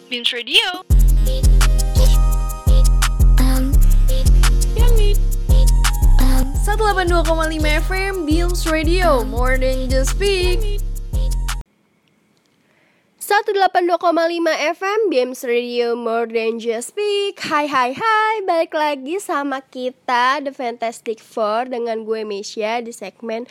Beams Radio. Um, 182,5 FM Beams Radio, more than just speak. 182,5 FM Beams Radio, more than just speak. Hai, balik lagi sama kita The Fantastic Four dengan gue Mesya di segmen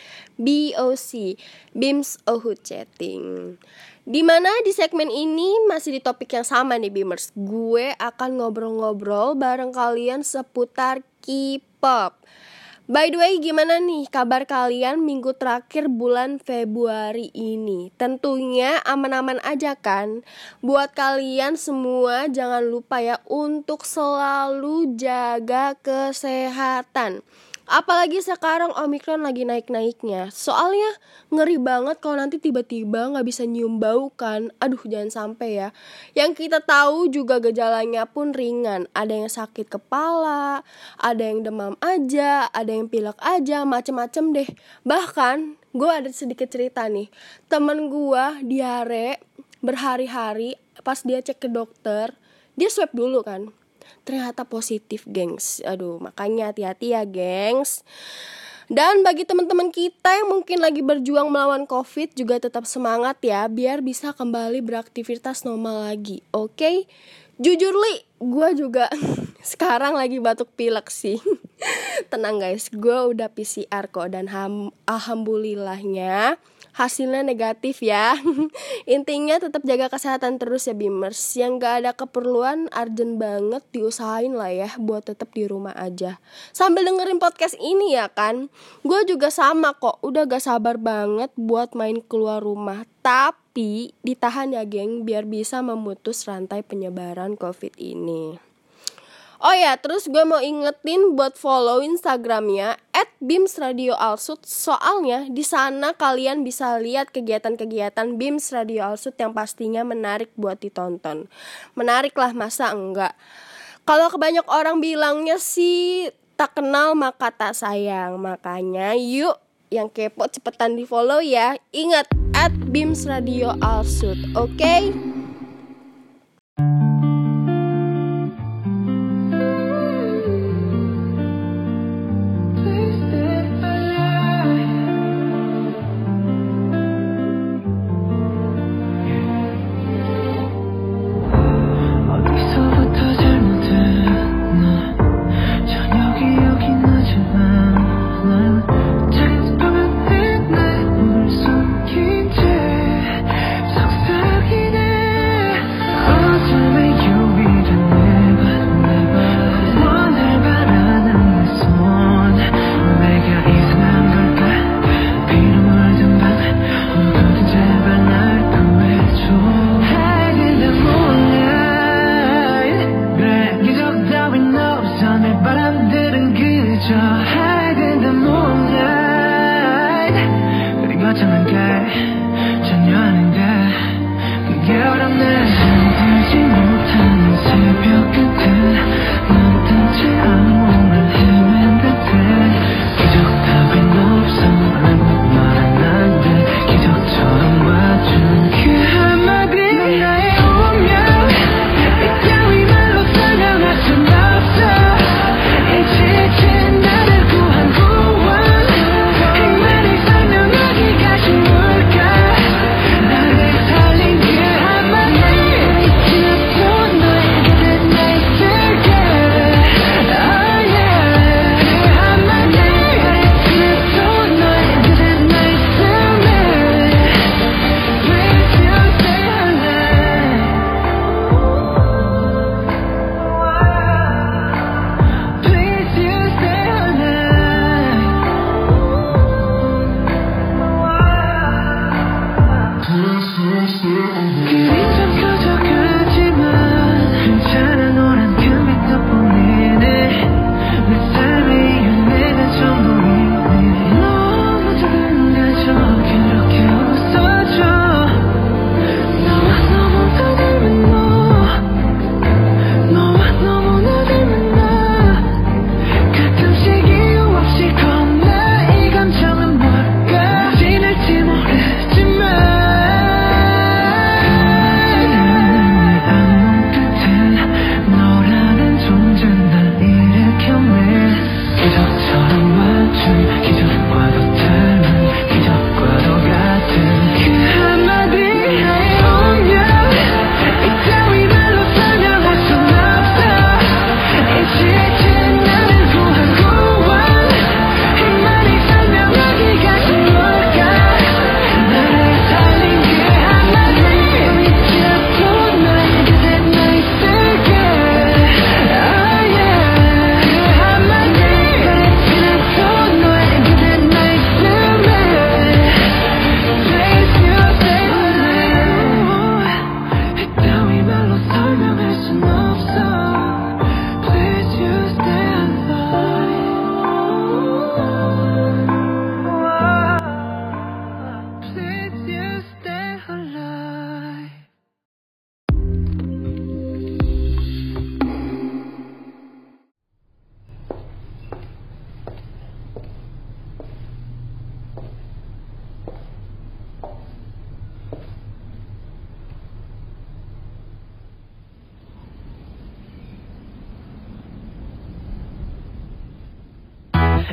BOC, Beams Ohut Chatting. Dimana di segmen ini masih di topik yang sama nih Beamers. Gue akan ngobrol-ngobrol bareng kalian seputar K-pop. By the way, gimana nih kabar kalian minggu terakhir bulan Februari ini? Tentunya aman-aman aja kan? Buat kalian semua jangan lupa ya untuk selalu jaga kesehatan. Apalagi sekarang Omicron lagi naik-naiknya. Soalnya ngeri banget kalau nanti tiba-tiba gak bisa nyium bau kan. Aduh, jangan sampai ya. Yang kita tahu juga gejalanya pun ringan. Ada yang sakit kepala, ada yang demam aja, ada yang pilek aja, macem-macem deh. Bahkan gue ada sedikit cerita nih. Temen gue diare berhari-hari, pas dia cek ke dokter, dia swab dulu kan. Ternyata positif, gengs. Aduh, makanya hati-hati ya, gengs. Dan bagi teman-teman kita yang mungkin lagi berjuang melawan COVID, juga tetap semangat ya, biar bisa kembali beraktivitas normal lagi, oke? Jujur Li, gue juga sekarang lagi batuk pilek sih. Tenang guys, gue udah PCR kok, dan alhamdulillahnya hasilnya negatif ya. Intinya tetap jaga kesehatan terus ya Beamers. Yang gak ada keperluan urgent banget diusahain lah ya buat tetap di rumah aja sambil dengerin podcast ini ya kan. Gue juga sama kok, udah gak sabar banget buat main keluar rumah. Tapi ditahan ya geng, biar bisa memutus rantai penyebaran COVID ini. Oh ya, terus gue mau ingetin buat follow Instagramnya @BeamsRadioAlsut. Soalnya di sana kalian bisa lihat kegiatan-kegiatan Beams Radio Alsut yang pastinya menarik buat ditonton. Menarik lah, masa enggak? Kalau kebanyak orang bilangnya sih tak kenal maka tak sayang. Makanya yuk yang kepo cepetan di follow ya. Ingat @BeamsRadioAlsut, oke?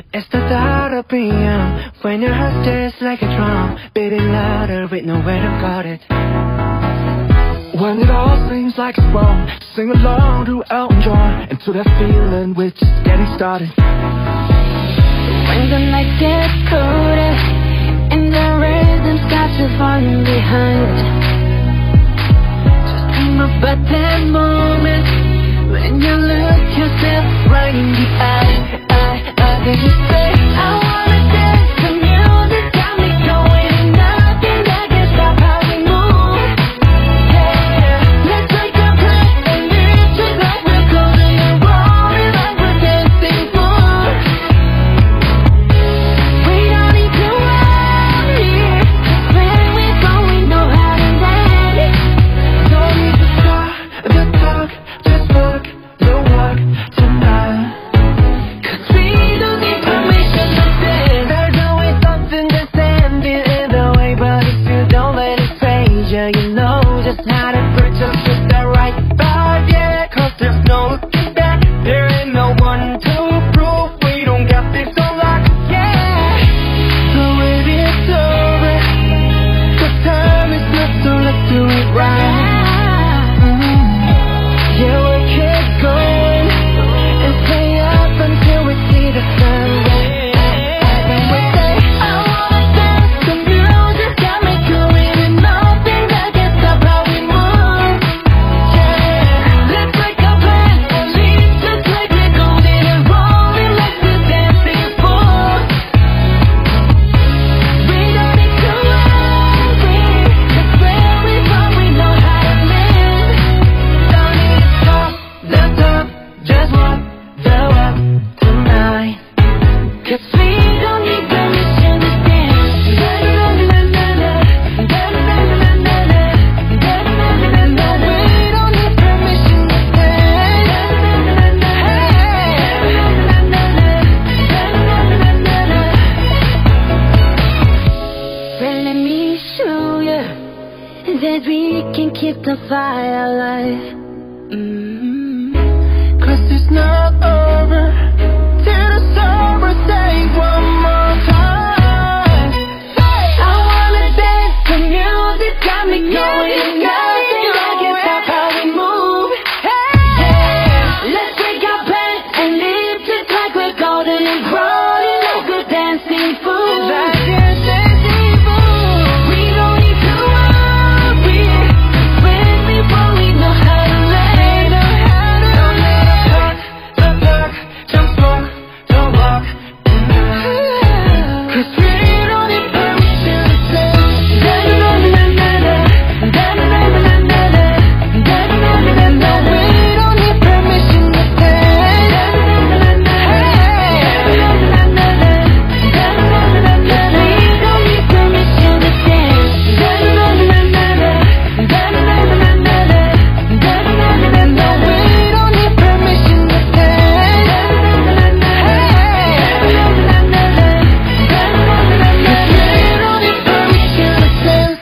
It's the thought of PM when your heart stays like a drum, beating louder with nowhere to guard it. When it all seems like it's wrong, sing along to Elton John, into that feeling we're just getting started. When the night gets colder and the rhythm's got you falling behind, just dream about that moment when you look yourself right in the eye. Then you say, I wanna dance, the music got me going, and nothing that can stop how we move. Yeah, let's take a breath and live just like we're golden and rolling like we're dancing fools. We don't need to worry, 'cause when we go we know how to land. Don't need to stop the talk, just walk the walk tonight. 'Cause we don't need permission to stand. There's always something that's standing in the way, but if you don't let it phase you, you know just how to put just with the right vibe, yeah. 'Cause there's no looking back, there ain't no one to prove we don't got this on lock, yeah. So if it's over, 'cause time is not, so let's do it right. Yeah, we'll keep going and stay up until we see the sun rise. When we say, I wanna dance, the music got me going, and nothing that can stop how we move. Yeah, let's make a plan and leave just like we're golden and rolling like we're dancing fools. We don't need to worry, 'cause where we from we know how to live. don't need to talk the talk, just walk the walk tonight. 'Cause We don't need permission to dance. Da-da-da-da-da-da, da-da-da-da-da-da, da-da-da-da-da-da. we don't need permission to stand. Well, let me show you that we can keep the fire alive. 'Cause it's not over till the summer stays one more time. I wanna dance, the music got me going, and nothing that can stop how we move. Yeah, let's break our plans and live just like we're golden and rolling like we're dancing fools. Like this dancing fool. We don't need to worry, 'cause when we fall we know how to land. Don't let us talk the talk, just walk the walk tonight. 'Cause we don't need permission to stand. Da-da-da-da-da-da, da-da-da-da-da-da, da-da-da-da-da-da. We don't need permission to stand. We don't need permission to stand. We don't need permission to stand.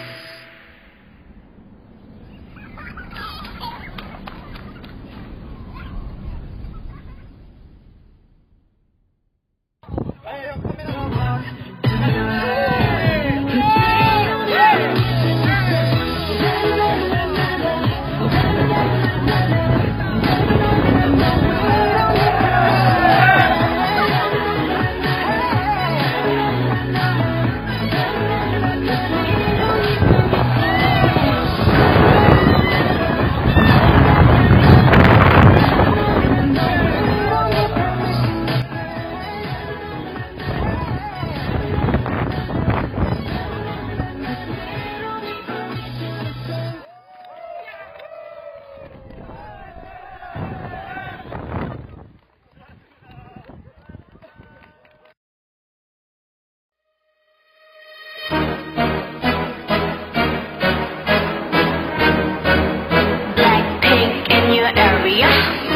Blackpink in your area.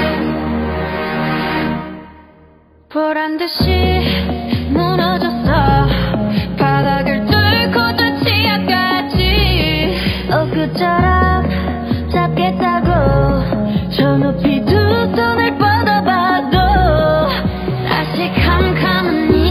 보란 듯이 무너졌어. 바닥을 뚫고 저 지하까지. 엊그처럼 잡겠다고. 저 높이 두 손을 뻗어봐도 다시 캄캄한 이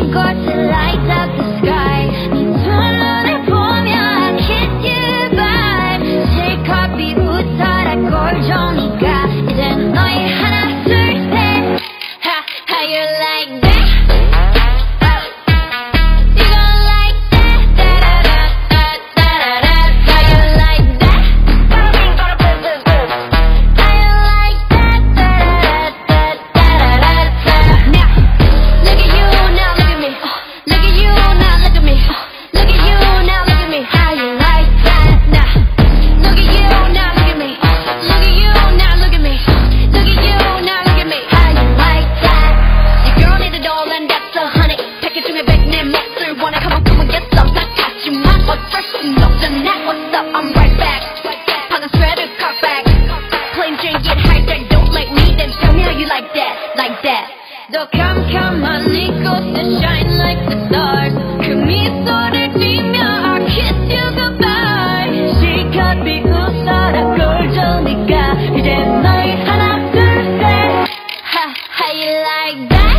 더 캄캄한 이곳에 shine like the stars 그 미소를 띠며 I'll kiss you goodbye 시간이 웃어라 꼴조니까 이제 너희 하나 둘셋 How you like that?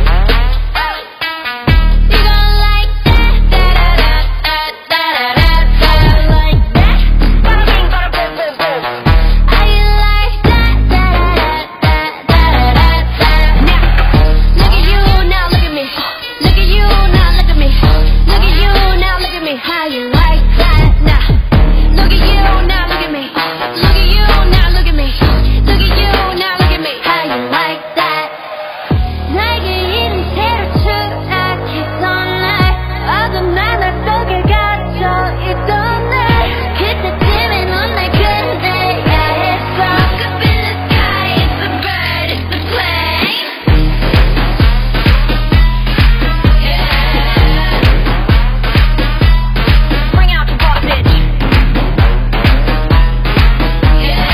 You gon' like that? Da-da-da-da-da-da-da. Like that? Bada bing, bada boom, boom, boom. How you like that? Da-da-da-da-da-da-da. Now, look at you, now look at me. Look at you, now look at me. Look at you, now look at me. How you like that? Now, look at you, now look at me. Look at you, now look at me. Look at you, now look at me. How you like that? 나에게 이른 새로 추락했던 날 어둠 하나 속에 갇혀 있던 날 그때쯤에 넌 날 끝내야 했어 Look up in the sky, it's a bird, it's a plane Yeah Bring out the ball, bitch Yeah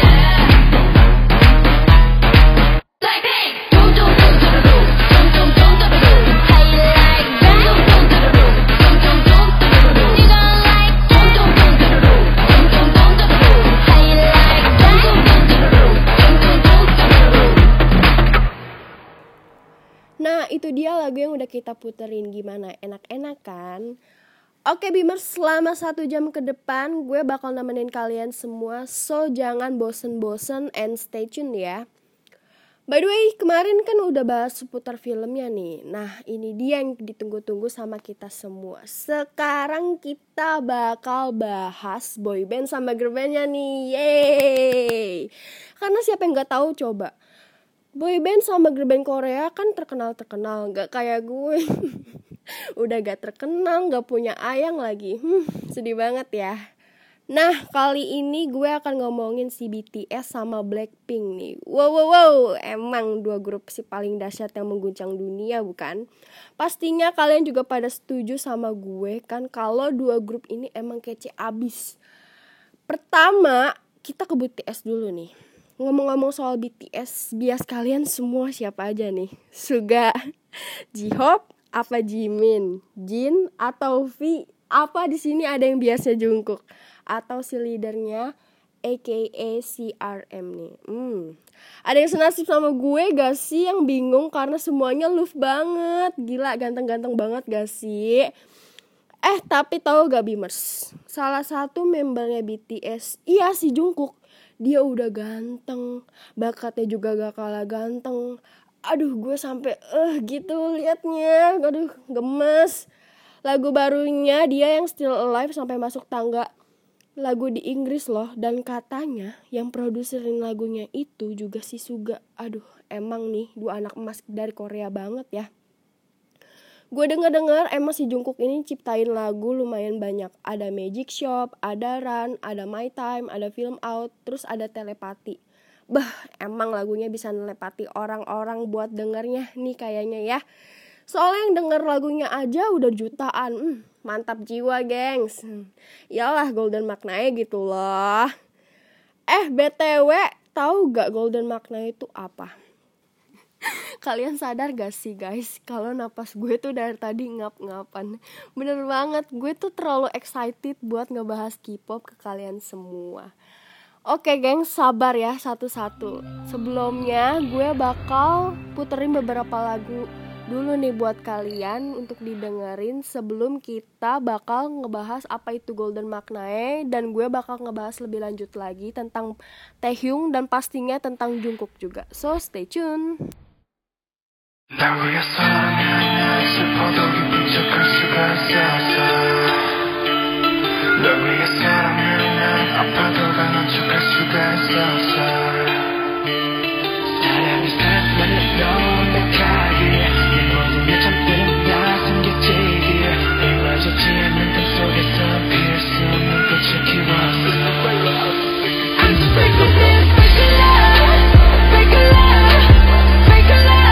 Blackpink Dum dum dum dum dum dum dum dum dum How you like that? Dum dum dum dum dum dum dum You gon' like that? Dum dum dum dum dum dum dum How you like that? Dum dum dum dum dum dum Nah, itu dia lagu yang udah kita puterin. Gimana? Enak-enak kan? Oke Beamers, selama 1 jam ke depan gue bakal nemenin kalian semua. So, jangan bosen-bosen and stay tune ya. By the way, kemarin kan udah bahas seputar filmnya nih. Nah, ini dia yang ditunggu-tunggu sama kita semua. Sekarang kita bakal bahas boyband sama girlbandnya nih. Yeay! Karena siapa yang gak tahu coba. Boyband sama girlband Korea kan terkenal-terkenal, gak kayak gue. Udah gak terkenal, gak punya ayang lagi. Sedih banget ya. Nah, kali ini gue akan ngomongin si BTS sama Blackpink nih. Wow, emang 2 grup si paling dahsyat yang mengguncang dunia bukan? Pastinya kalian juga pada setuju sama gue kan kalau 2 grup ini emang kece abis. Pertama, kita ke BTS dulu nih. Ngomong-ngomong soal BTS, bias kalian semua siapa aja nih? Suga, J-Hope, apa Jimin, Jin, atau V? Apa di sini ada yang biasnya Jungkook? Atau si leadernya aka si RM nih? Ada yang senasib sama gue gak sih yang bingung karena semuanya love banget? Gila, ganteng-ganteng banget gak sih? Tapi tahu gak Beamers? Salah satu membernya BTS, iya si Jungkook. Dia udah ganteng, bakatnya juga gak kalah ganteng. Aduh, gue sampai gitu liatnya. Aduh, gemes. Lagu barunya dia yang Still Alive sampai masuk tangga lagu di Inggris loh. Dan katanya yang produserin lagunya itu juga si Suga. Aduh, emang nih 2 anak emas dari Korea banget ya. Gue denger emang si Jungkook ini ciptain lagu lumayan banyak. Ada Magic Shop, ada Run, ada My Time, ada Film Out, terus ada Telepati. Emang lagunya bisa nelepati orang-orang buat dengernya nih kayaknya ya. Soalnya yang denger lagunya aja udah jutaan. Mantap jiwa gengs. Yalah Golden Maknae gitu loh. BTW, tahu gak Golden Maknae itu apa? Kalian sadar gak sih guys, kalau napas gue tuh dari tadi ngap-ngapan. Bener banget, gue tuh terlalu excited buat ngebahas K-pop ke kalian semua. Oke geng, sabar ya satu-satu. Sebelumnya gue bakal puterin beberapa lagu dulu nih buat kalian untuk didengerin sebelum kita bakal ngebahas apa itu Golden Maknae. Dan gue bakal ngebahas lebih lanjut lagi tentang Taehyung dan pastinya tentang Jungkook juga. So stay tune. 날 위해서라면 슬퍼도 기쁜 척할 수가 있었어 널 위해서라면 난 아파도 강한 척할 수가 있었어 사랑이 사랑만 해도 완벽하게 네 모든 게 잠드는 나 숨겨지기에 이루어지지 않는 꿈 속에서 피울 수 없는 꽃을 키웠어 I'm just break a love, break a love, break a love, break a love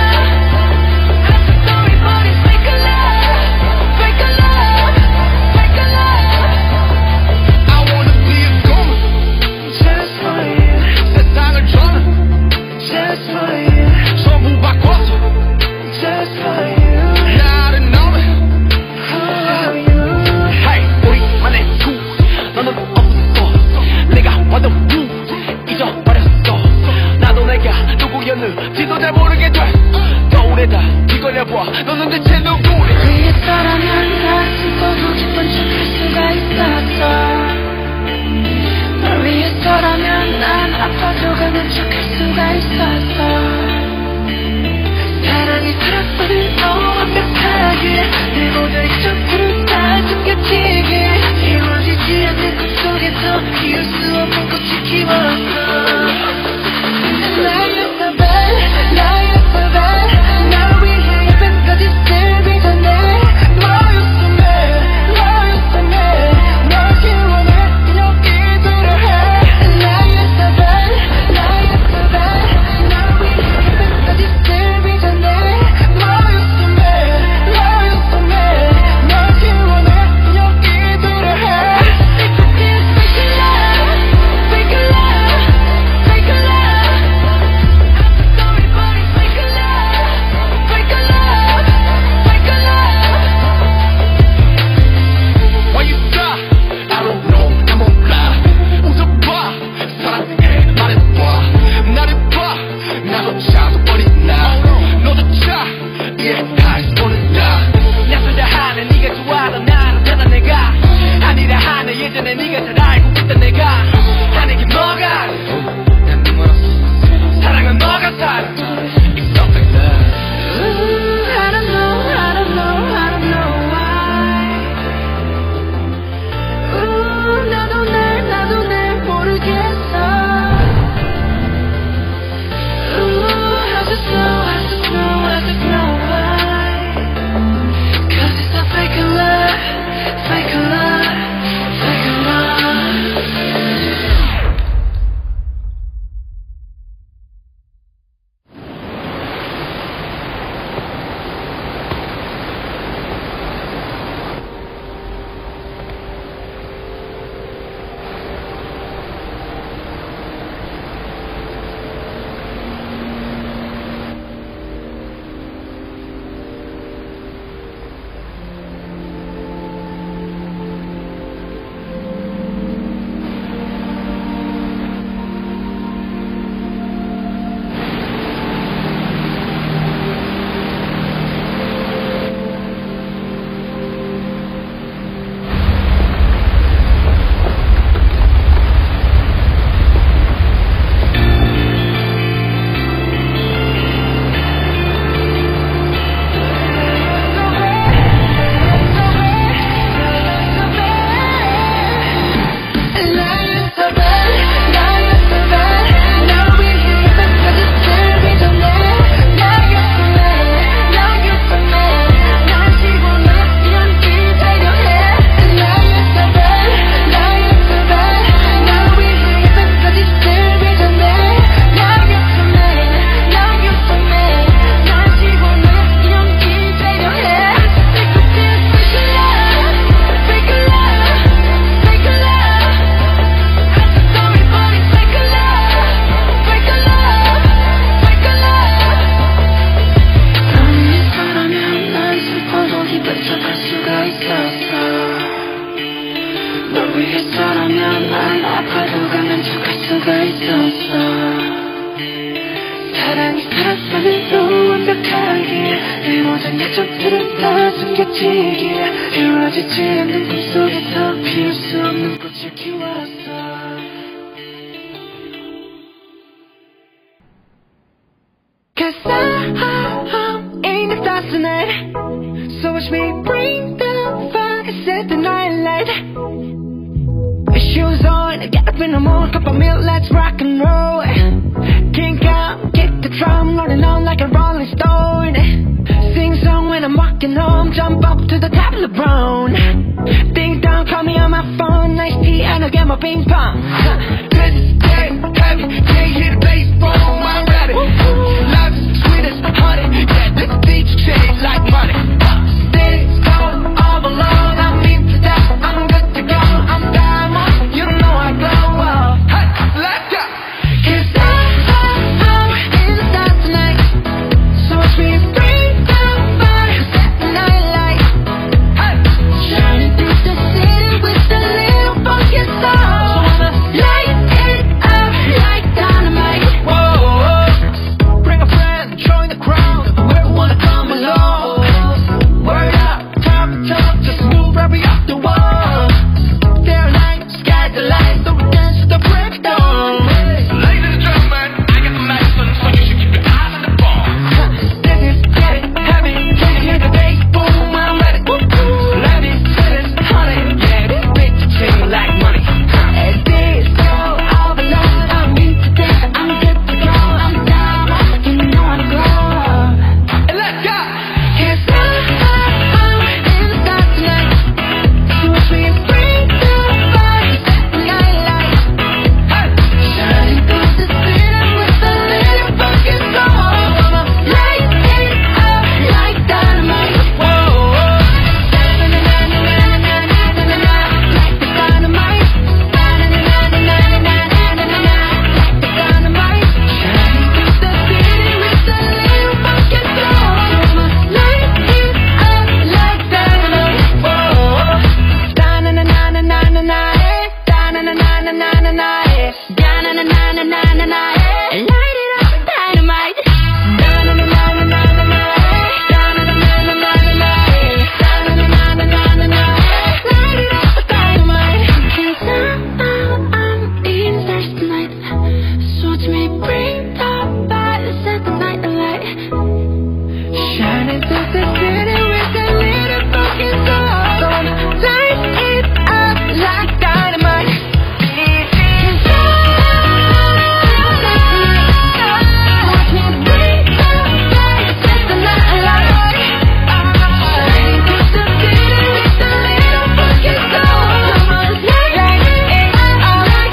just for you. 알겠지 이루어지지 않는 꿈속에서 피울 수 없는 꽃을 키웠어. Cause I'm in the stars tonight. So watch me bring the fire, set the night light. Shoes on, get up in the morning, cup of milk, let's rock and roll. Kink out, kick the drum, rolling on like a rolling stone. Sing song when I'm walking home, jump up to the top of the brown. Ding dong, call me on my phone, nice tea and I'll get my ping pong. This is getting heavy, can't hear the bass, boom, I'm ready. Life is sweet as honey, yeah, this beat change like money. This all alone, I'm in that, I'm good to go, I'm diamond, you know I glow. Hey, let's go. Cause I'm in the stars tonight, so watch me bring the fire, set the night light. Hey, shining through the city with a little funky soul. Light it up like dynamite. Whoa, bring a friend, join the crowd, whoever wanna come along. Word up, time to talk, just move right off the wall. There are lights, sky's the light, so we dance to the break of dawn. Ladies and gentlemen, I got the medicine, so you should keep your eyes on the ball. This is getting heavy, can you hear the bass? Boom, I'm ready. Let me feel it, honey, yeah, this bitch change like money. And this all alone, I'm into this, I'm good to go, I'm down, you know I'm glow. And let's go. Cause I'm in the stars tonight, so watch me bring the fire, set the night light. Hey, shining through the city with a little funky soul. Light it up like dynamite. Whoa, na-na-na-na-na-na-na-na-na-na, like the dynamite. Na-na-na-na-na-na-na-na-na-na, like the dynamite. Shining through the city with a little funky soul. Light it up like dynamite. Whoa, da-na-na-na-na-na-na-na, da-na-na-na-na-na-na, da-na-na-na-na-na-na, light it up dynamite. Da-na-na-na-na-na-na, da-na-na-na-na-na-na, da-na-na-na-na-na-na, light it up dynamite. Cause I'm in the stars tonight, so watch me bring the fire, set the night alight. Shining through the city with a little fucking soul. Light it up like dynamite. Watch me bring the fire, set the night alight. Shining through the city with a little fucking soul. Light it up like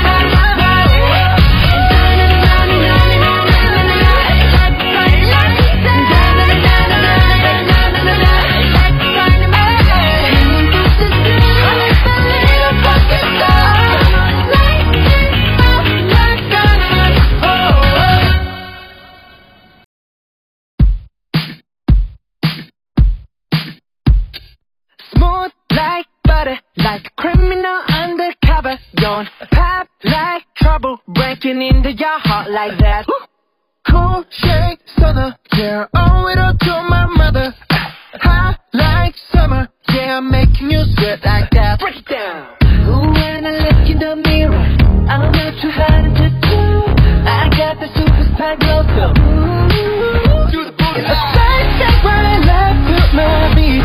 smooth like butter, like a criminal undercover. Don't pop like trouble, breaking into your heart like that. Cool shade stunner, yeah, owe it all to my mother. Hot like summer, yeah, I'm making you sweat like that. Break it down. Ooh, when I look in the mirror, I'm not too hard to do. I got the superstar glow, so do the booty. A side step when I love to my beat.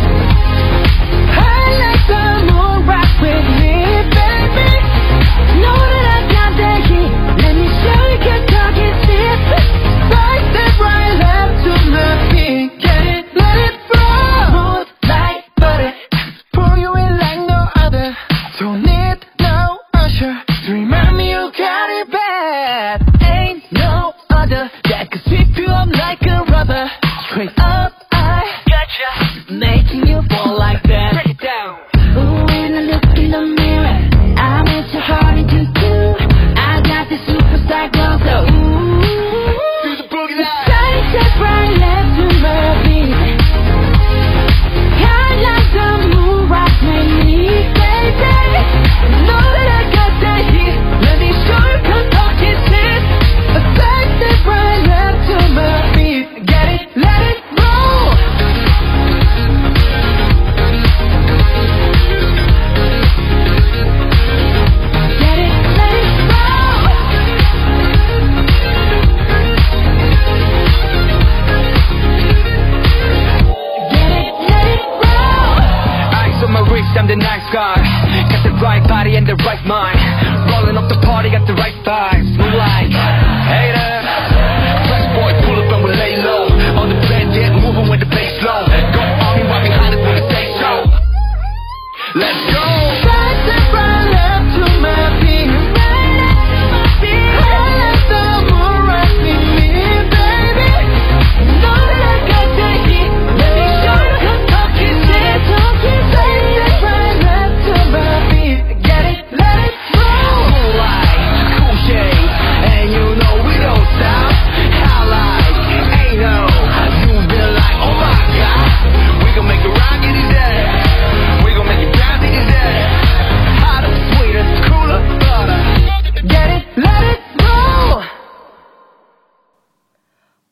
I like the moon, rock with me, baby. Know that I got that heat. Let me show you, get talking this. Right step right left to my feet. Get it, let it flow. Smooth like butter, pull you in like no other. Don't need no usher, 3 minutes.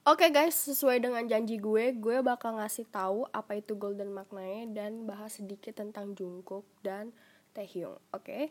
Oke guys, sesuai dengan janji gue bakal ngasih tahu apa itu golden maknanya dan bahas sedikit tentang Jungkook dan Taehyung. Oke.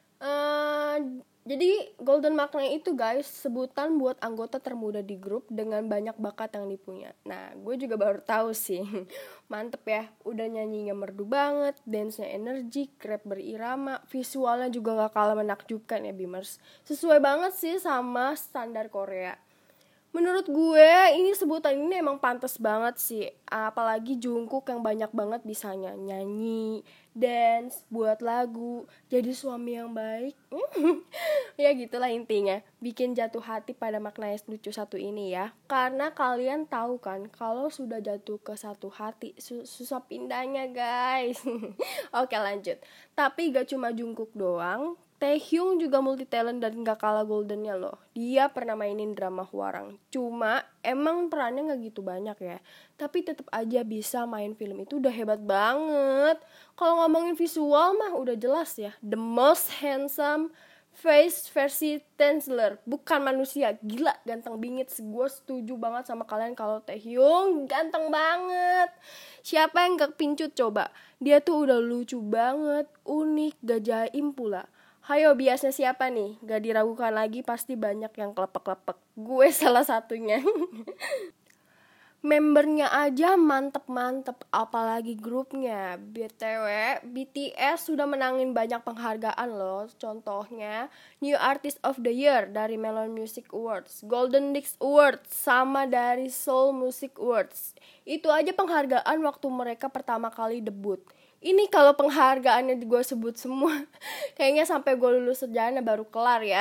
Jadi golden maknanya itu guys sebutan buat anggota termuda di grup dengan banyak bakat yang dipunya. Nah, gue juga baru tahu sih. Mantep ya, udah nyanyinya merdu banget, dance-nya energik, rap berirama, visualnya juga gak kalah menakjubkan ya Beamers. Sesuai banget sih sama standar Korea. Menurut gue ini sebutan ini emang pantas banget sih. Apalagi Jungkook yang banyak banget bisanya nyanyi, dance, buat lagu, jadi suami yang baik. Ya gitulah intinya. Bikin jatuh hati pada makna yang lucu satu ini ya. Karena kalian tahu kan kalau sudah jatuh ke satu hati susah pindahnya guys. Oke lanjut. Tapi gak cuma Jungkook doang, Taehyung juga multi talent dan gak kalah goldennya loh. Dia pernah mainin drama Hwarang. Cuma emang perannya gak gitu banyak ya. Tapi tetap aja bisa main film itu udah hebat banget. Kalau ngomongin visual mah udah jelas ya. The most handsome face versi Tenzler. Bukan manusia. Gila ganteng bingit. Gue setuju banget sama kalian kalau Taehyung ganteng banget. Siapa yang gak pincut coba? Dia tuh udah lucu banget. Unik, gak jaim pula. Hayo biasanya siapa nih? Gak diragukan lagi pasti banyak yang klepek-klepek. Gue salah satunya. Membernya aja mantep-mantep, apalagi grupnya. BTW, BTS sudah menangin banyak penghargaan loh. Contohnya, New Artist of the Year dari Melon Music Awards, Golden Disc Awards, sama dari Seoul Music Awards. Itu aja penghargaan waktu mereka pertama kali debut. Ini kalau penghargaannya gue sebut semua, kayaknya sampai gue lulus sarjana baru kelar ya.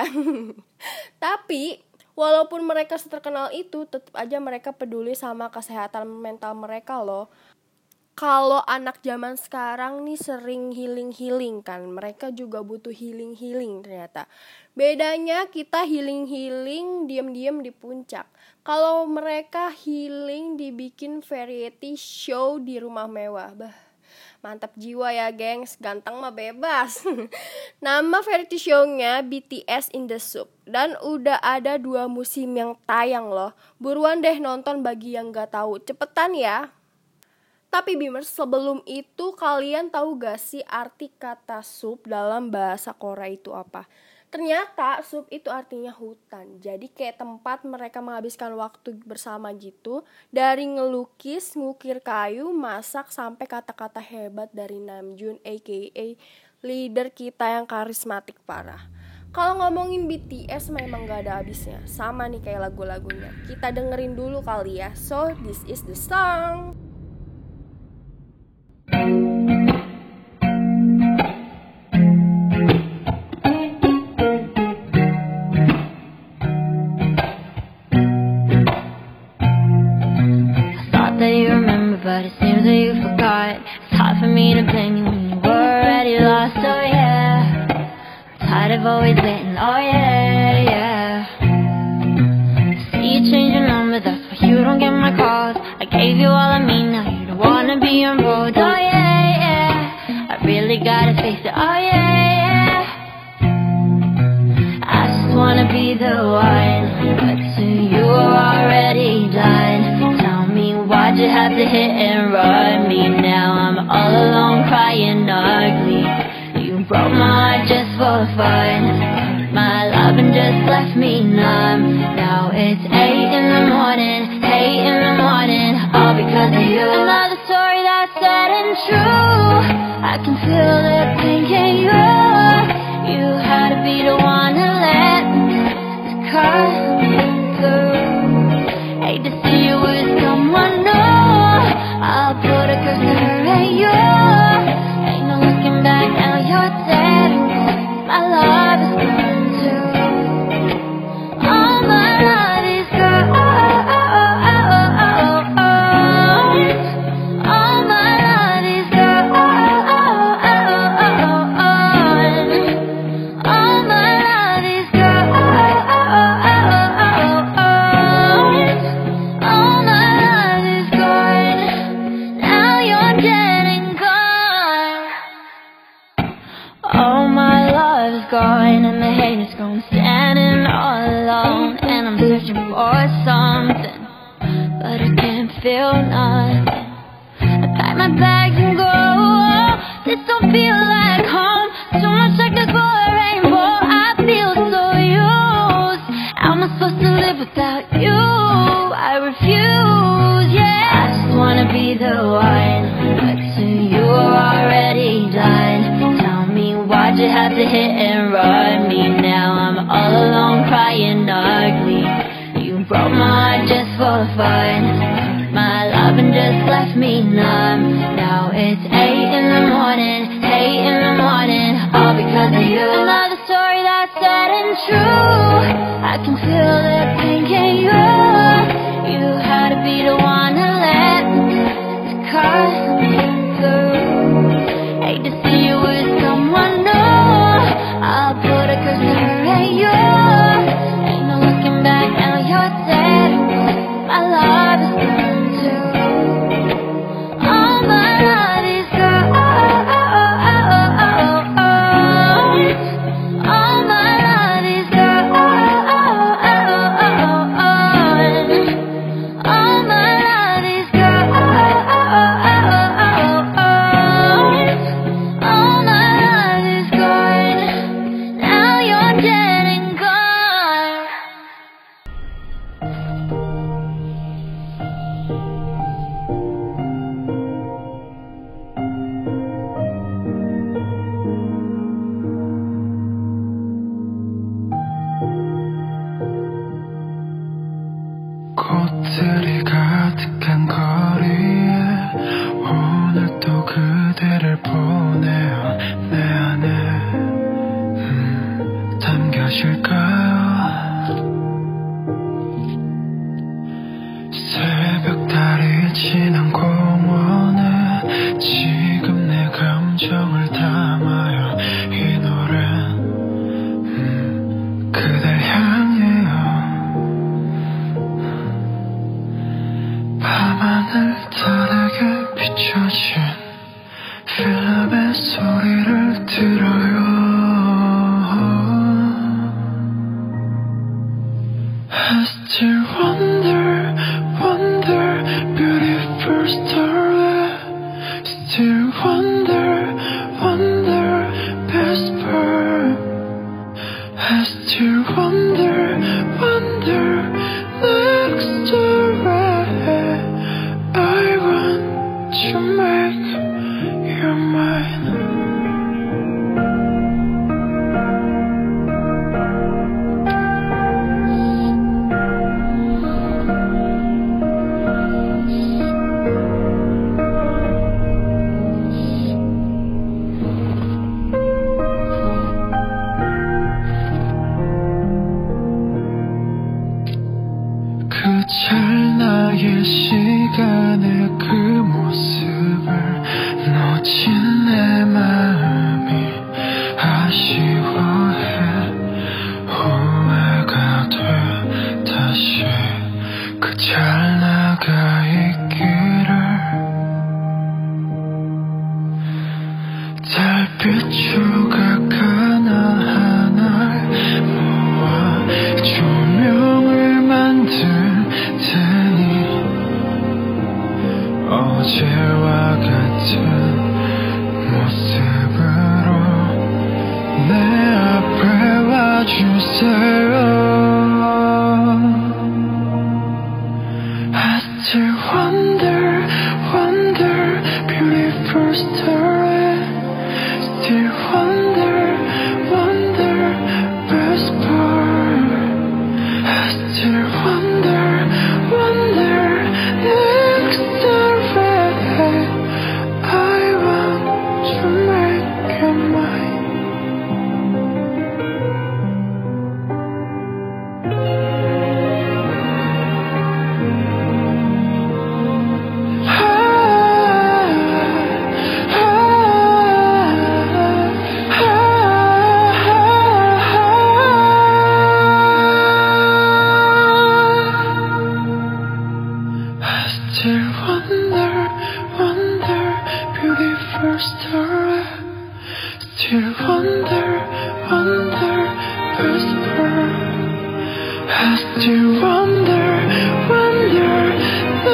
Tapi walaupun mereka terkenal itu, tetap aja mereka peduli sama kesehatan mental mereka loh. Kalau anak zaman sekarang nih sering healing kan, mereka juga butuh healing ternyata. Bedanya kita healing diam-diam di puncak. Kalau mereka healing dibikin variety show di rumah mewah. Mantap jiwa ya gengs, ganteng mah bebas. Nama variety show-nya BTS in the Soup. Dan udah ada 2 musim yang tayang loh. Buruan deh nonton bagi yang gak tahu. Cepetan ya. Tapi Beamers, sebelum itu kalian tahu gak sih arti kata soup dalam bahasa Korea itu apa? Ternyata soup itu artinya hutan. Jadi kayak tempat mereka menghabiskan waktu bersama gitu. Dari ngelukis, ngukir kayu, masak, sampai kata-kata hebat dari Namjoon aka leader kita yang karismatik parah. Kalau ngomongin BTS memang gak ada habisnya. Sama nih kayak lagu-lagunya. Kita dengerin dulu kali ya. So this is the song. But it seems that you forgot. It's hard for me to blame you when you were already lost. Oh yeah, tired of always waiting. Oh yeah. See you change your number, that's why you don't get my calls. I gave you all of me, now you don't wanna be on road. Oh yeah, I really gotta face it. Oh yeah. I just wanna be the one, but to you are already done. Why'd you have to hit and run me? Now I'm all alone crying ugly. You broke my heart just for fun. My love and just left me numb. Now it's 8 in the morning, all because of you. Another story that's sad and true. I can feel the pain in you. You had to be the one to let this cut through. Hate to see you with someone new. I'll put a curse to her and you. Ain't no looking back, now you're dead. My love is gone too. All my love is gone. All my love is gone. All my love is gone. All my love is gone. Now you're dead and gone. All my love is gone, and the hate is gone. Standing all alone, and I'm searching for something. but I can't feel none. I pack my bags and go. This don't feel like home. Too much like a rainbow. I feel so used. How am I supposed to live without you? I refuse, yeah. I just wanna be the one, but to you are already done. Tell me why'd you have to hit and run me now? I'm all alone crying ugly. You broke my heart just for fun. My loving just left me numb. Now it's 8 in the morning, 8 in the morning, all because of you. Another story that's sad and true. I can feel the pain, can you? You had to be the one to let me, because I'm through. Hate to see you with someone new. I'll put a curse on her and you. Ain't no looking back, now you're dead. My love is gone too. All my love is gone. All my love is gone. All my love is gone. All my love is gone. Now you're dead and gone. 꽃들이 가득한 거리에 오늘 또 그대를 보내요. 내 안에 담겨질까요? 새벽달이 지난 공원에 지금 내 감정을 담아요. 이 노래는 그댈 향해요. 밤하늘 다르게 비춰진 필름의 소리를 들어요. I still wonder, wonder, beautiful story. Still wonder, wonder, best part. I still wonder, wonder, next story. I want to make you mine. 그 찰나의 시간에 그 모습을 놓친 내 마음이 아쉬워해. 후회가 돼 다시 그 찰나가 있기를. 달빛 조각 하나하나 모아 조명을 만들 테니 어제와 같은 모습으로 내 앞에 와주세요. I still wonder, wonder, beautiful story. Still wonder, wonder, best part. I still wonder, wonder, next story. I want to make you mine. Still wonder, wonder, beautiful story. Still wonder, wonder, whisper. I still wonder, wonder,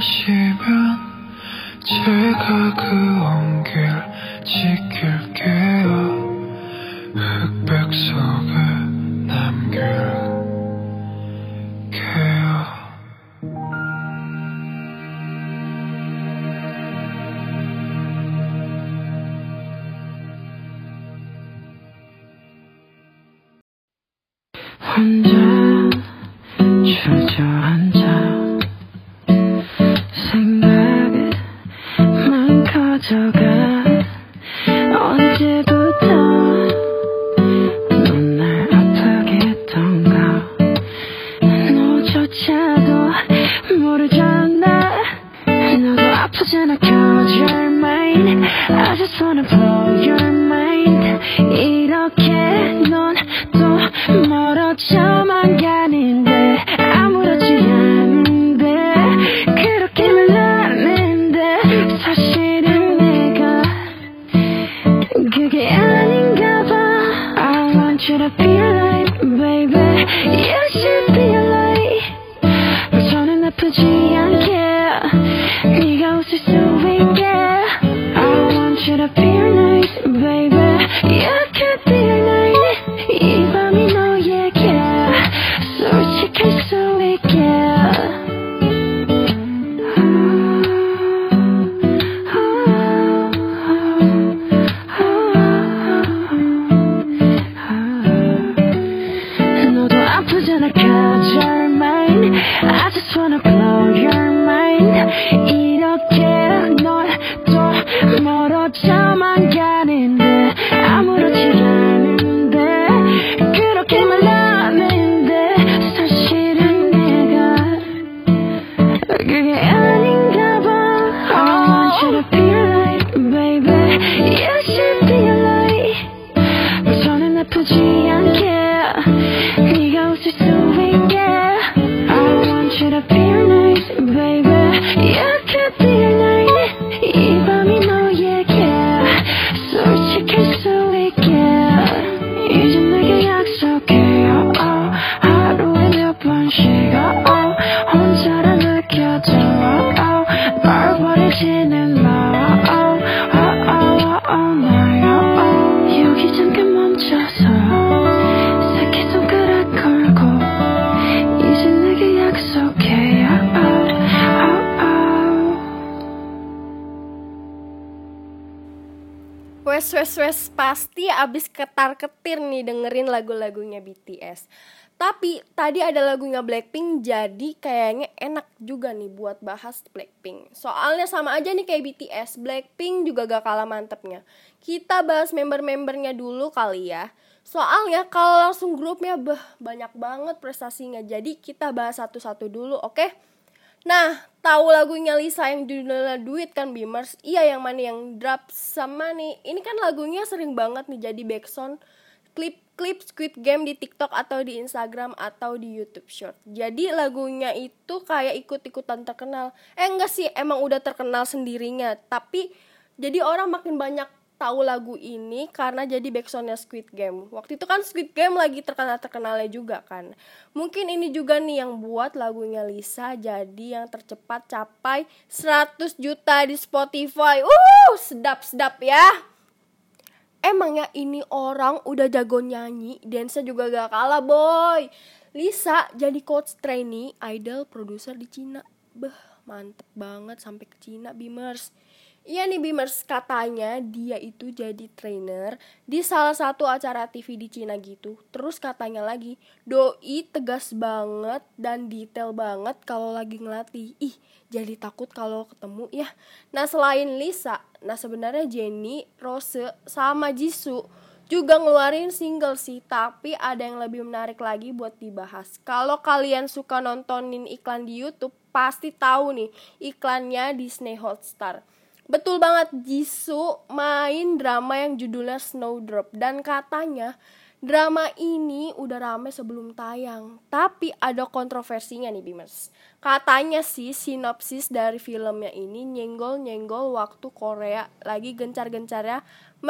원하시면 제가 그 온길 지킬게요. 흑백 속에 남길게요. 혼자 주저앉아 생각만 커져가. 언제부터 넌 날 아프게 했던가. 너조차도 모르잖아. 너도 아프잖아. Cause you're mine. I just wanna blow your mind. 이렇게 넌 또 멀어져만 가는데 아무렇지 않은데 그렇게 말하는데 사실은 내가 그게 아닌가 봐. I want you to be alive, baby. You should be alive. 저는 아프지 않게 네가 웃을 수 있게. I want you to be nice, baby. You could be nice. 이 밤이 너에게 솔직할 수 있게. 너도 아프잖아. Cause you're mine. I just wanna blow your mind. 이렇게 넌 또 멀어져만 가는데 아무렇지 않은데 그렇게 말하는데 사실은 내가 그게 아닌가 봐. I want you to be alive, baby. You should be alive. 저는 아프지 않게 네가 웃을 수 있게. I want you to be nice, baby. You could be nice. 이 밤이 너에게 솔직할 수 있게. 이제 내게 약속해요. 하루에 몇 번씩 혼자라 느껴져. 널 버리지는 마. 나요. 여기 잠깐 멈춰서 새끼손가락 걸고 이제 내게 약속해요. Wes pasti abis ketar-ketir nih dengerin lagu-lagunya BTS. Tapi tadi ada lagunya Blackpink, jadi kayaknya enak juga nih buat bahas Blackpink. Soalnya sama aja nih kayak BTS, Blackpink juga gak kalah mantepnya. Kita bahas member-membernya dulu kali ya. Soalnya kalau langsung grupnya banyak banget prestasinya. Jadi kita bahas satu-satu dulu, oke? Nah, tahu lagunya Lisa yang judulnya Duit kan, Beamers? Iya, yang mana yang Drop sama nih. Ini kan lagunya sering banget nih jadi backsound klip Squid Game di TikTok atau di Instagram atau di YouTube Short. Jadi lagunya itu kayak ikut-ikutan terkenal. Enggak sih, emang udah terkenal sendirinya. Tapi jadi orang makin banyak tahu lagu ini karena jadi backsoundnya Squid Game. Waktu itu kan Squid Game lagi terkenal-terkenalnya juga kan. Mungkin ini juga nih yang buat lagunya Lisa jadi yang tercepat capai 100 juta di Spotify. Sedap-sedap ya. Emangnya ini orang udah jago nyanyi, dance juga gak kalah boy. Lisa jadi coach trainee idol produser di Cina. Mantep banget sampai ke Cina, Beamers. Iya nih Beamers, katanya dia itu jadi trainer di salah satu acara TV di Cina gitu. Terus katanya lagi, doi tegas banget dan detail banget kalau lagi ngelatih. Jadi takut kalau ketemu ya. Nah selain Lisa, sebenarnya Jennie, Rose, sama Jisoo juga ngeluarin single sih. Tapi ada yang lebih menarik lagi buat dibahas. Kalau kalian suka nontonin iklan di YouTube, pasti tahu nih iklannya Disney Hotstar. Betul banget, Jisoo main drama yang judulnya Snowdrop. Dan katanya drama ini udah rame sebelum tayang. Tapi ada kontroversinya nih Beamers. Katanya sih sinopsis dari filmnya ini nyenggol-nyenggol waktu Korea lagi gencar-gencarnya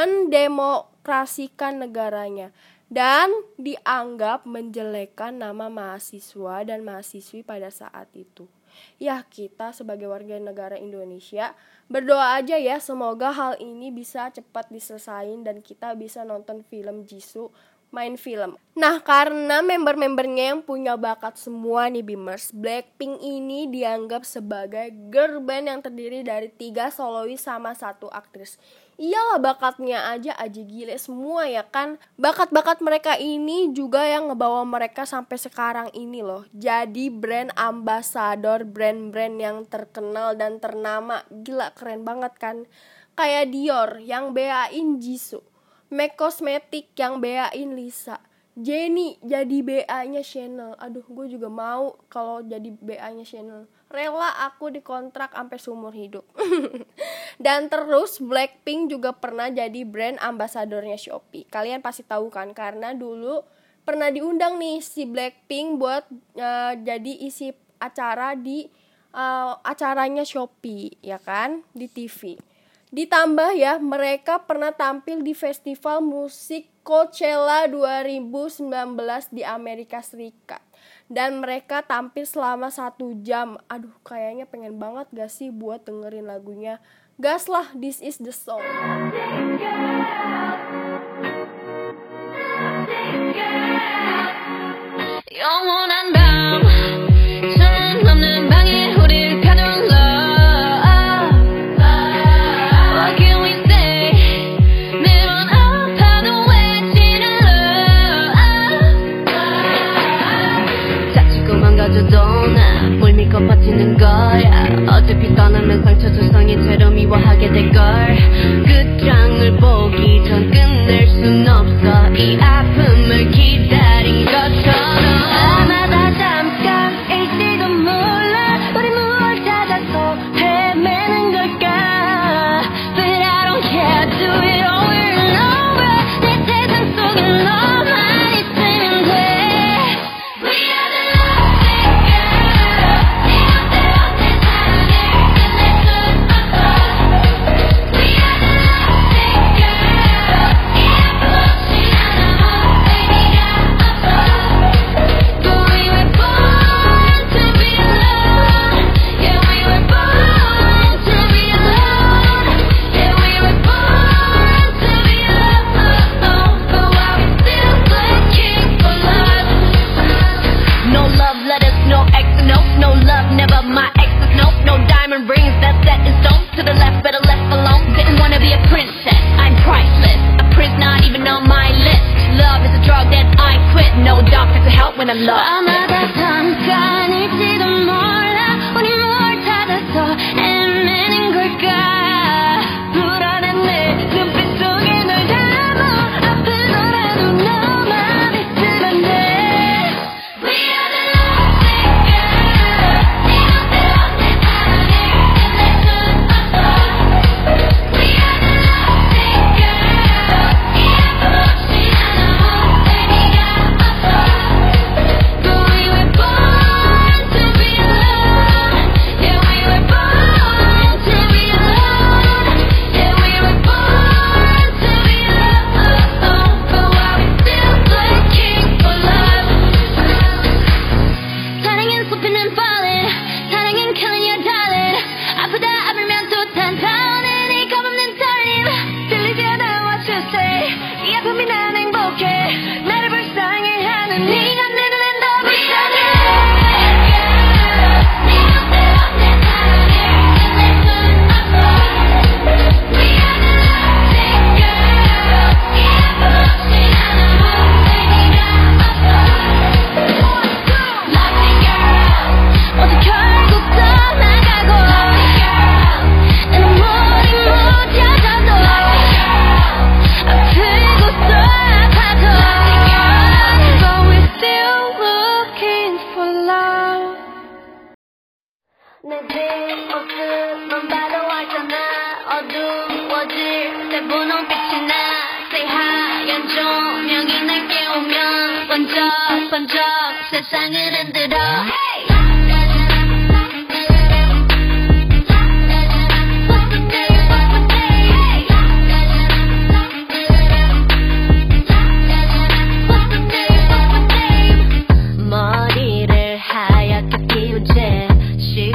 mendemokrasikan negaranya. Dan dianggap menjelekkan nama mahasiswa dan mahasiswi pada saat itu. Ya, kita sebagai warga negara Indonesia berdoa aja ya, semoga hal ini bisa cepat diselesain dan kita bisa nonton film Jisoo main film. Nah, karena member-membernya yang punya bakat semua nih Beamers, Blackpink ini dianggap sebagai girl band yang terdiri dari 3 solois sama 1 aktris. Iyalah, bakatnya aja gile semua ya kan. Bakat-bakat mereka ini juga yang ngebawa mereka sampai sekarang ini loh. Jadi brand ambassador, brand-brand yang terkenal dan ternama. Gila, keren banget kan. Kayak Dior yang BA-in Jisoo, MAC Cosmetic yang BA-in Lisa, Jennie jadi BA-nya Chanel. Aduh, gue juga mau kalau jadi BA-nya Chanel. Rela aku dikontrak sampai seumur hidup. Dan terus Blackpink juga pernah jadi brand ambasadornya Shopee. Kalian pasti tahu kan, karena dulu pernah diundang nih si Blackpink buat jadi isi acara di acaranya Shopee, ya kan, di TV. Ditambah ya, mereka pernah tampil di festival musik Coachella 2019 di Amerika Serikat. Dan mereka tampil selama 1 jam. Aduh, kayaknya pengen banget gak sih buat dengerin lagunya. Gas lah, this is the song. 영원한 밤 저는 없는 방에 우릴 가둘러 What can we say 매번 아파도 외치는 love 다치고 망가져도 나 뭘 믿고 버티는 거야 어차피 떠나면 상처 조성이 채로 미워하게 될걸 끝장을 보기 전 끝낼 순 없어 이 아픔을 기다린 것처럼 아마 다 잠깐일지도 몰라 우리 무얼 찾아서 헤매는 걸까 But I don't care do it over and over 내 세상 속에 너만 있으면 돼 We are the lovesick girl 네 맘대로 내 사랑을 끝낼 순 없어 We are the lovesick girl 이 아픔 없이 난 아무 의미가 없어 But we were born to be alone Yeah we were born to be alone Yeah we were born to be alone But while we still looking for love No love letters, no X, no love, never my exes, no diamond rings, that's set in stone To the left, better left alone Didn't wanna be a princess, I'm priceless A prince not even on my list Love is a drug that I quit No doctor to help when I'm lost 아마다 잠깐일지도 몰라 우리 뭘 찾아서 헤매는 걸까 불안한 내 눈빛 속에 널 담아 아프더라도 너만 있으면 돼 We are the lovesick girl 네 맘대로 내 사랑을 끝낼 순 없어 We are the lovesick girl 이 아픔 없이 난 아무 의미가 없어 But we were born to be alone Yeah we were born to be alone Yeah we were born to be alone But while we still looking for love 사랑은 숲이는 falling 사랑은 killing your darling 아프다 아프면 또 탄탄해 네 겁없는 떨림 들리지 않아 what you say 이 아픔이 난 행복해 나를 불쌍해하는 네가 내 눈엔 더 불쌍해 네 맘대로 내 사랑을 끝낼 순 없어 We are the lovesick girl 이 아픔 없이 난 아무 의미가 없어 Lovesick girl 모두 결국 떠나가고 Lovesick girl 내 눈물이 묻혀져도 아프고서 아파도 But we're still looking for love 내 뒷모습만 봐도 알잖아 어두워질 때 분홍빛이 나 새하얀 조명이 날 깨우면 번쩍번쩍 세상을 흔들어 머리를 하얗게 피운 채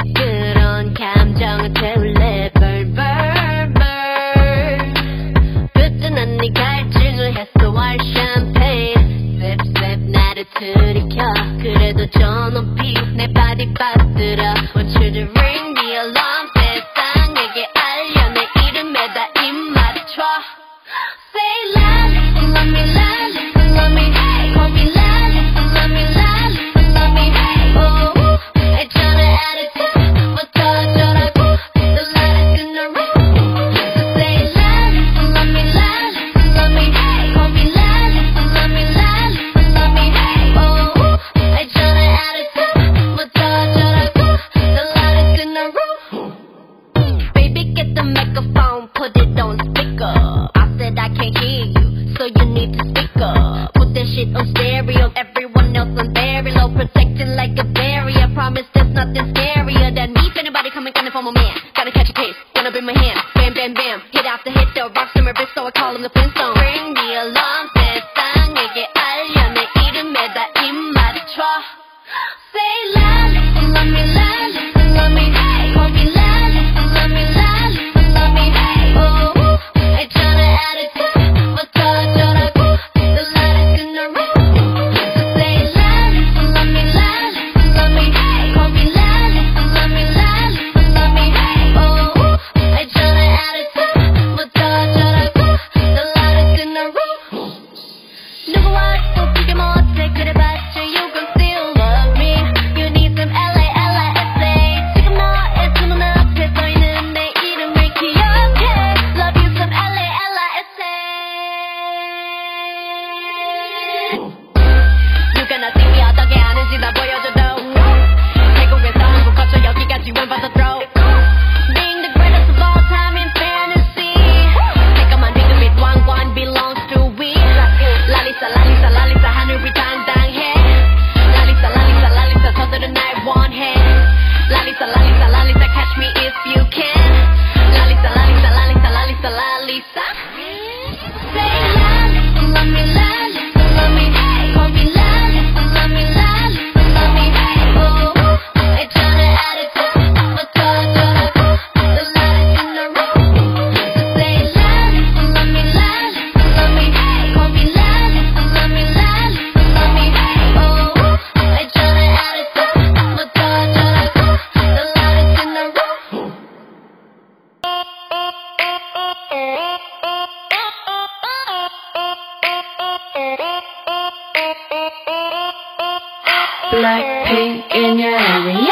Blackpink in your area.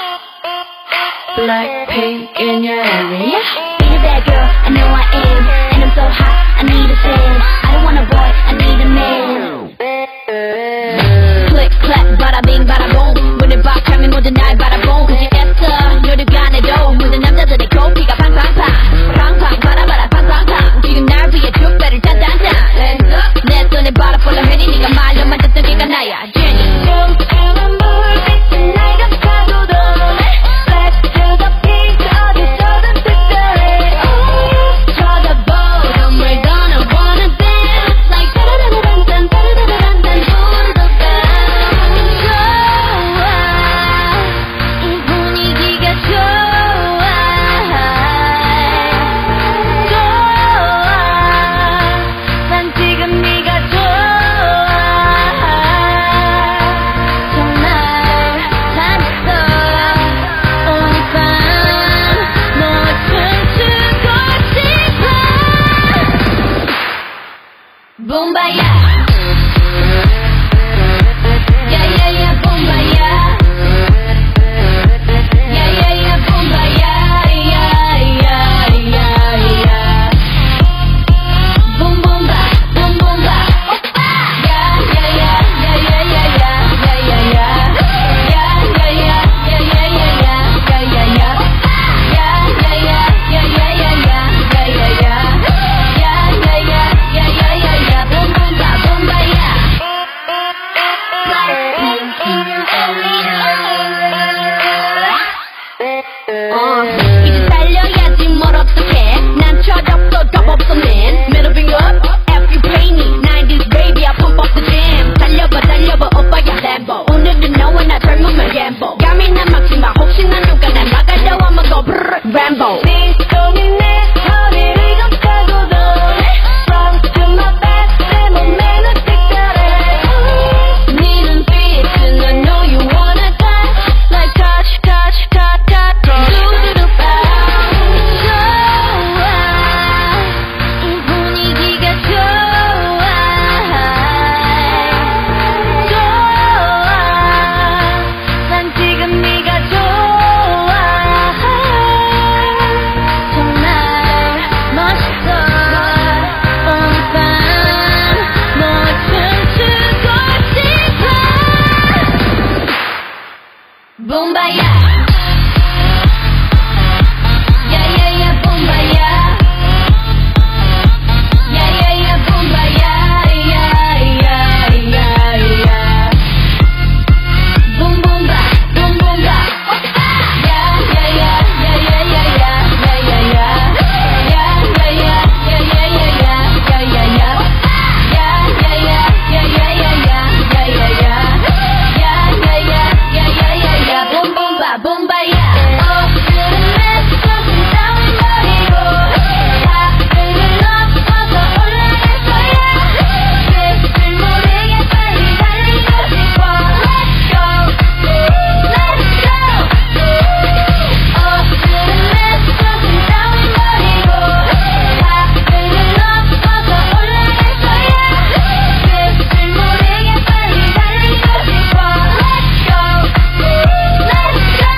Blackpink in your area. Being a bad girl, I know I am. And I'm so hot, I need a fan. I don't want a boy, I need a man. Click, clap, bada bing, bada boom. 문을 박 하면 모든 날 바라본 그지겠어 노력이 안 해도 모든 남자들의 코피가 팡팡팡 팡팡 바라바라 팡팡팡 지금 날 위해 족배를 짠짠짠 내 손에 바라 폴라 해니 네가 말로만 듣던 걔가 나야 Jenny 춤추는 불빛은 날 감싸고도 Black to the pink 어디서든 특별해 쳐다보던 we're gonna wanna dance Like 따라라란딴 따라라란딴 불을 더 이 분위기가 좋아 난 지금 네가 좋아 정말 잘했어 오늘 밤 너와 춤추고 싶어 붐바야 야야야 붐바야 야야야 붐바야 야야야야야 붐붐바 붐붐바 오빠 야야야야야야야야야야 야야야야야야야야야 야야야야야야야야야야야야야야 붐붐바 붐바야 Blackpink in your 이제 달려야지 뭘 어떡해 난 철없어 겁 없어 man Middle finger up if you pay me 90s baby I pump up the jam 달려봐 달려봐 오빠야 Lambo 오늘은 너와 나 젊으면 gamble 감이나 막지마 혹시나 누가 날 막아도 I'ma go brrr Rambo 네 손이 내 허리를 감싸고도 Front to my back 내 몸매는 특별해 네 눈빛은 I know you wanna touch Like touch touch touch touch 두두두바 좋아 이 분위기가 좋아 난 지금 네가 좋아 정말 멋있어 오늘 밤 너와 춤추고 싶어 붐바야 야야야 붐바야 야야야 붐바야 야야야야야 붐붐바 붐붐바 오빠 야야야야야야야야야야 야야야야야야야야야 야야야야야야야야야 붐붐바 붐바야 오늘은 내 손은 따윈 버리고 하늘을 넘어서 올라갈 거야 끝을 모르게 빨리 달리고 싶어 Let's go Let's go 오늘은 내 손은 따윈 버리고 하늘을 넘어서 올라갈 거야 끝을 모르게 빨리 달리고 싶어 Let's go Let's go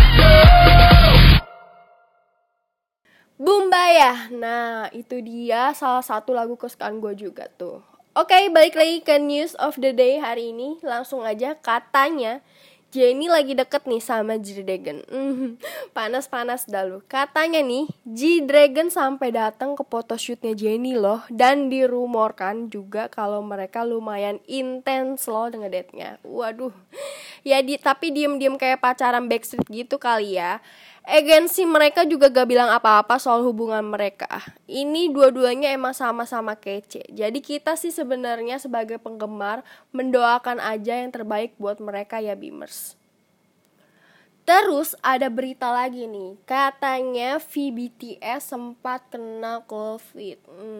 Bumbaya. Nah, itu dia salah satu lagu kesukaan gue juga tuh. Oke, balik lagi ke news of the day hari ini. Langsung aja, katanya Jennie lagi deket nih sama G-Dragon. Panas-panas dah lu. Katanya nih, G-Dragon sampai datang ke photoshootnya Jennie loh. Dan dirumorkan juga kalau mereka lumayan intens loh ngedate-nya. Waduh. Ya tapi diem-diem kayak pacaran Backstreet gitu kali ya. Agensi mereka juga gak bilang apa-apa soal hubungan mereka. Ini dua-duanya emang sama-sama kece. Jadi kita sih sebenarnya sebagai penggemar mendoakan aja yang terbaik buat mereka ya Beamers. Terus ada berita lagi nih, katanya VBTS sempat kena COVID.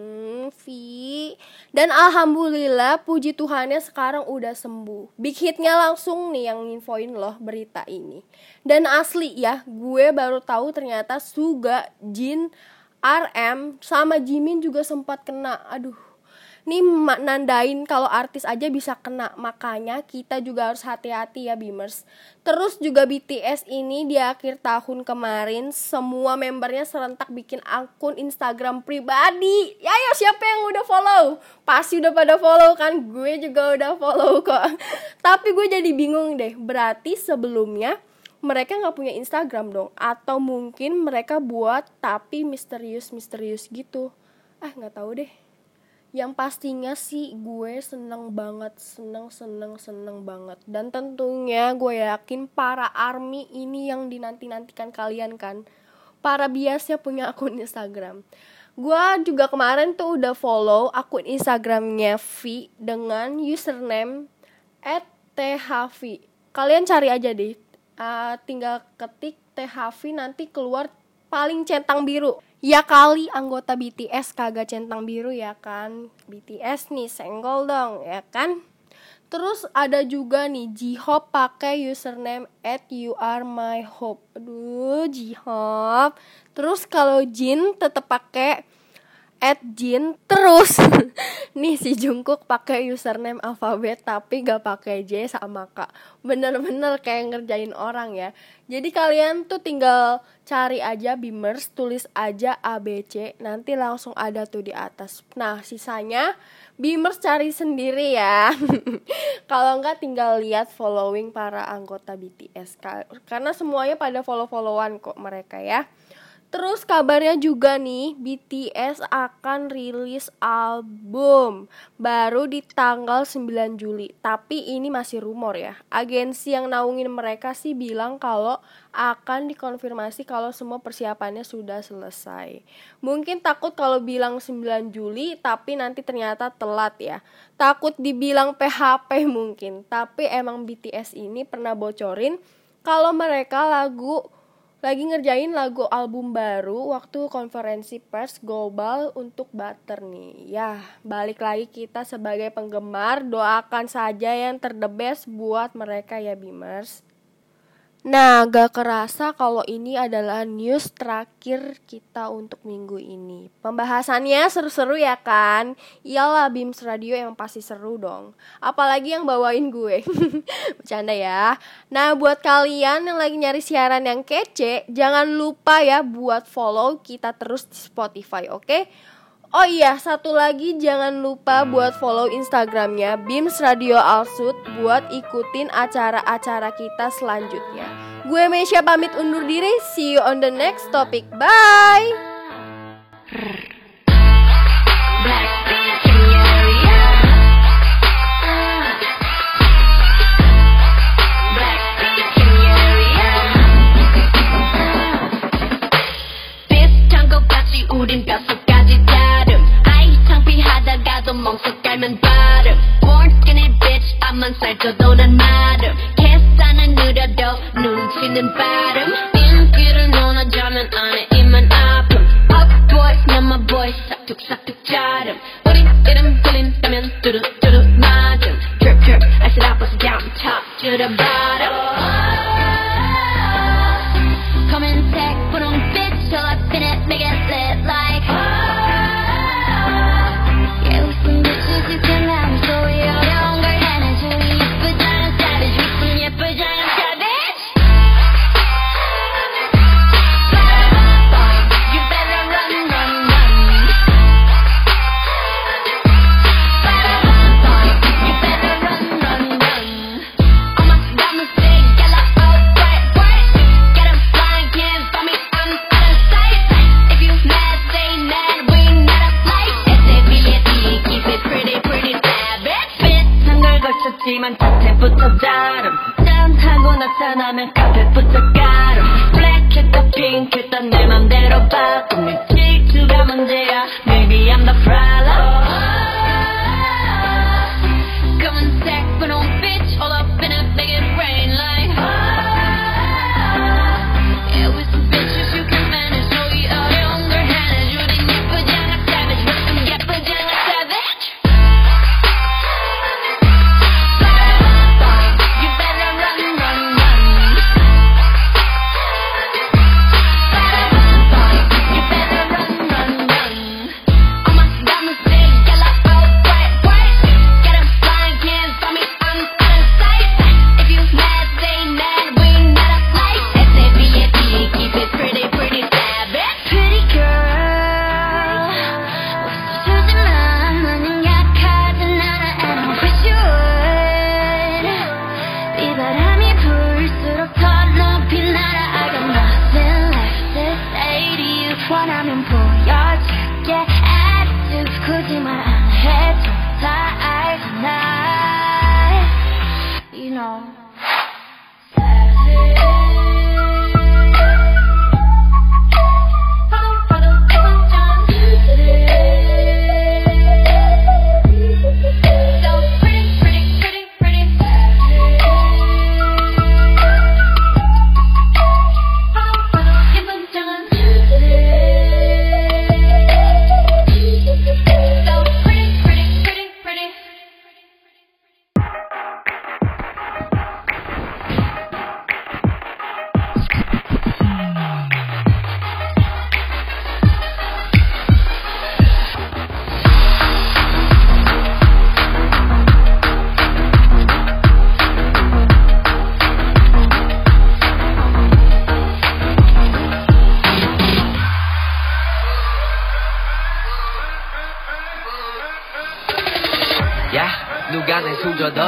Dan alhamdulillah puji Tuhannya sekarang udah sembuh. Big hitnya langsung nih yang infoin loh berita ini. Dan asli ya, gue baru tahu ternyata Suga, Jin, RM sama Jimin juga sempat kena. Aduh. Nih nandain kalau artis aja bisa kena, makanya kita juga harus hati-hati ya Beamers. Terus juga BTS ini di akhir tahun kemarin semua membernya serentak bikin akun Instagram pribadi. Ya ayo siapa yang udah follow? Pasti udah pada follow kan, gue juga udah follow kok. Tapi gue jadi bingung deh, berarti sebelumnya mereka gak punya Instagram dong? Atau mungkin mereka buat tapi misterius gitu. Gak tahu deh. Yang pastinya sih gue seneng banget. Dan tentunya gue yakin para ARMY ini yang dinanti-nantikan kalian kan, para biasnya punya akun Instagram. Gue juga kemarin tuh udah follow akun Instagramnya V dengan username @thv. Kalian cari aja deh. Tinggal ketik THV nanti keluar paling centang biru. Ya kali anggota BTS kagak centang biru ya kan. BTS nih senggol dong ya kan. Terus ada juga nih J-Hope pakai username @youaremyhope. Aduh J-Hope. Terus kalau Jin tetap pakai @jin. Terus nih si Jungkook pakai username alfabet tapi gak pakai J sama K. Bener-bener kayak ngerjain orang ya. Jadi kalian tuh tinggal cari aja Beamers, tulis aja ABC, nanti langsung ada tuh di atas. Nah sisanya Beamers cari sendiri ya. Kalau enggak tinggal lihat following para anggota BTS karena semuanya pada follow-followan kok mereka ya. Terus kabarnya juga nih BTS akan rilis album baru di tanggal 9 Juli. Tapi ini masih rumor ya. Agensi yang naungin mereka sih bilang kalau akan dikonfirmasi kalau semua persiapannya sudah selesai. Mungkin takut kalau bilang 9 Juli tapi nanti ternyata telat ya. Takut dibilang PHP mungkin. Tapi emang BTS ini pernah bocorin kalau mereka lagi ngerjain lagu album baru waktu konferensi pers global untuk Butter nih. Ya, balik lagi kita sebagai penggemar, doakan saja yang terdebes buat mereka ya Beamers. Nah, gak kerasa kalau ini adalah news terakhir kita untuk minggu ini. Pembahasannya seru-seru ya kan? Iyalah Beams Radio yang pasti seru dong. Apalagi yang bawain gue. Bercanda ya. Nah, buat kalian yang lagi nyari siaran yang kece, jangan lupa ya buat follow kita terus di Spotify, oke? Oh iya, satu lagi jangan lupa buat follow Instagramnya Beams Radio Alsut buat ikutin acara-acara kita selanjutnya. Gue Mesya pamit undur diri, see you on the next topic, bye! 우린 뼛속까지 다름 아이 창피하다가도 멍석 깔면 발음 Born skinny bitch 앞만 살쪄도 난 마름 계산은 느려도 눈치는 빠름 인기를 논하자면 안에 입만 아픔 Up boys 난 my boys 싹둑싹둑 자름 우리 이름 들린다면 뚜루뚜루 맞음 Drip drip I said I bust it down top to the bottom Come and take 분홍 bitch till I spin it make it lit like Yeah we some bitches who can have me so we 어려운 걸 해내줘 예쁘잖아 savage we some 예쁘잖아 savage You better run run run You better run run run All my diamonds big yellow all bright bright Get 'em flying can't find me I'm out of sight If you mad stay mad we not a flight SABSE keep it pretty pretty savage 비슷한 걸 거쳤지만 자태부터 다름 짠하고 나타나면 카페부터 가름 블랙했다 핑크했다 내 맘대로 바꿈 네 질투가 문제야 Maybe I'm the problem Come and take 분홍 bitch all up in it make it rain like Yeah with some bitches you can manage so 이 어려운 걸 해내줘 네 예쁘잖아 savage 왜 좀 예쁘잖아 savage You better run run run You better run run run All my diamonds big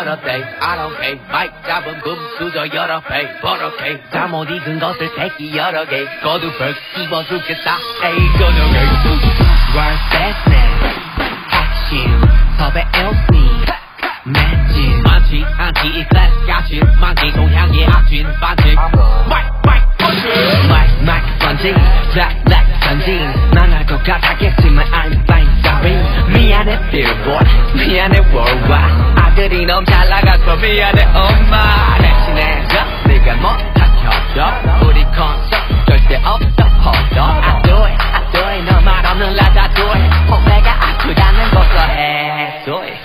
여러 배 I don't pay 마이크 잡은 분수도 여러 배 버럭해 잘못 익은 것을 새끼 여러 개 거두벌 씹어 죽겠다 에이 거두개 World business action 섭외 LC 매진 많지 않지 이 클래스 가진 많기 동향의 악진 반칙 마이크 번지 블랙 전진 망할 것 같았겠지만 I'm fine sorry 미안해 billboard 미안해 worldwide 아들이 너무 잘 나가서 미안해 엄마 대신해줘 네가 못한 협조 우리 콘서트 절대 없어 hold on I do it 너 말 없는 라다 do it 후배가 아프다는 것도 해소해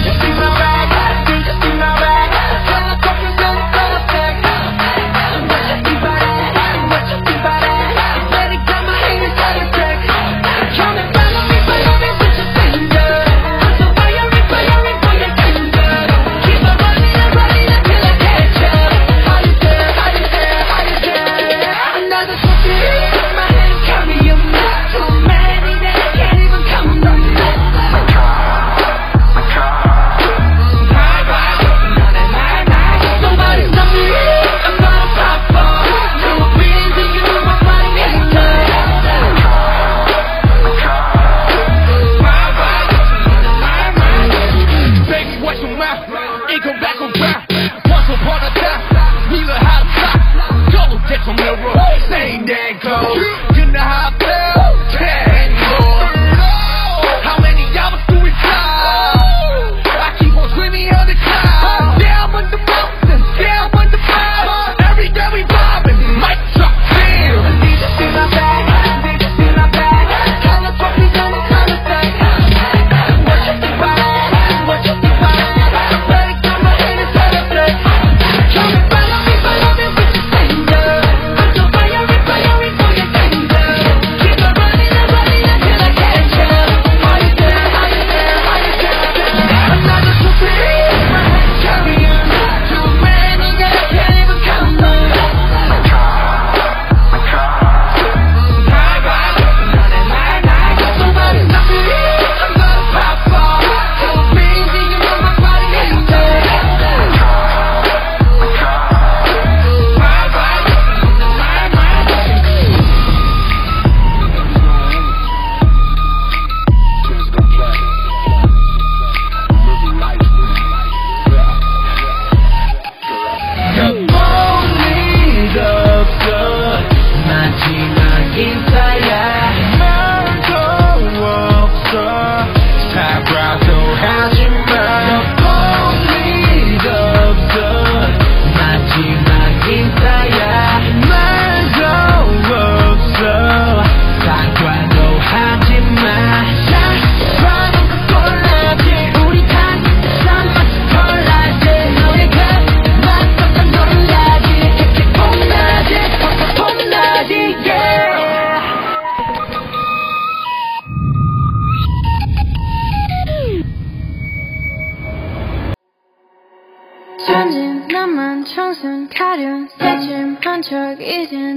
천진 나만 청순 가련 새침한 척 이젠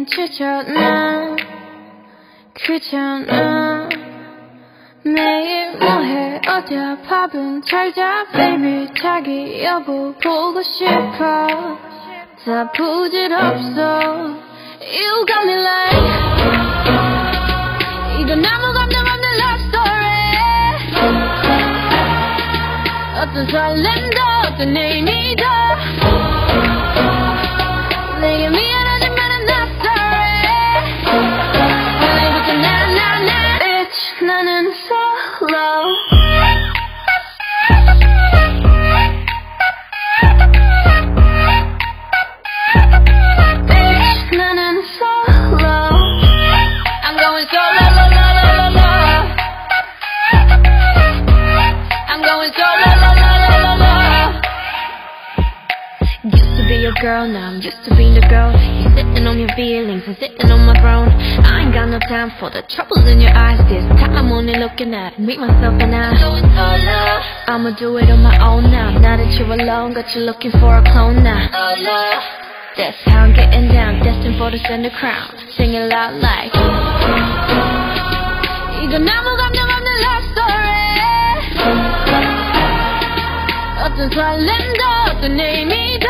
지쳤나 귀찮아 매일 뭐해 어디야 밥은 잘자 baby 자기 여보 보고 싶어 다 부질없어 You got me like 이건 아무 감정 없는 love story 어떤 설렘도 어떤 의미도 내게 미안하지만 I'm not sorry 오늘부터 나나나 Bitch 나는 solo Bitch 나는 solo I'm going solo la la la la la I'm going solo la la la la la Used to be your girl, now I'm used to being the girl. You're sitting on your feelings and sitting on my throne. I ain't got no time for the troubles in your eyes. This time I'm only looking at me, myself and I. I'ma do it on my own now. Now that you're alone, got you looking for a clone now. That's how I'm getting down, destined for the center crown. Sing it loud like 이건 아무 감정 없는 love story 어떤 설렘도 또 내 믿어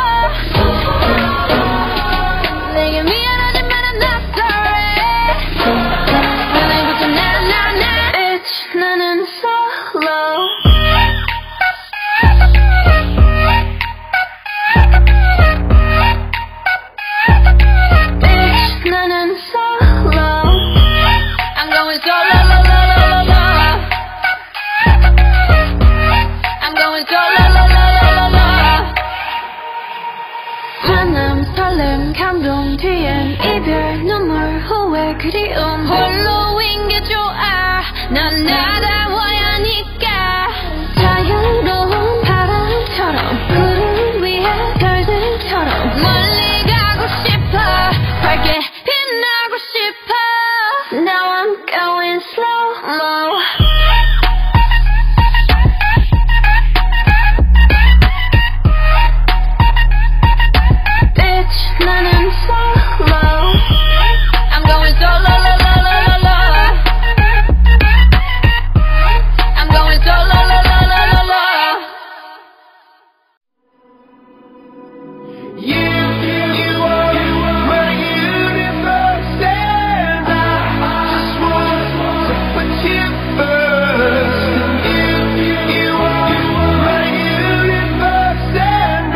내게 미안하지만 I'm not sorry 오늘부터 나 Bitch 나는 solo Bitch 나는 solo I'm going solo la la la la la I'm going solo la la la la la 화남 설렘 감동 뒤엔 이별 눈물 후회 그리움 홀로인 게 좋아 난 날아와야 하니까 자유로운 바람처럼 구름 위에 별들처럼 멀리 가고 싶어 밝게 빛나고 싶어 Now I'm going slow-mo Bitch 나는 solo I'm going solo la la la la la I'm going solo la la la la la You are my universe, and I just want to put you first. You are my universe, and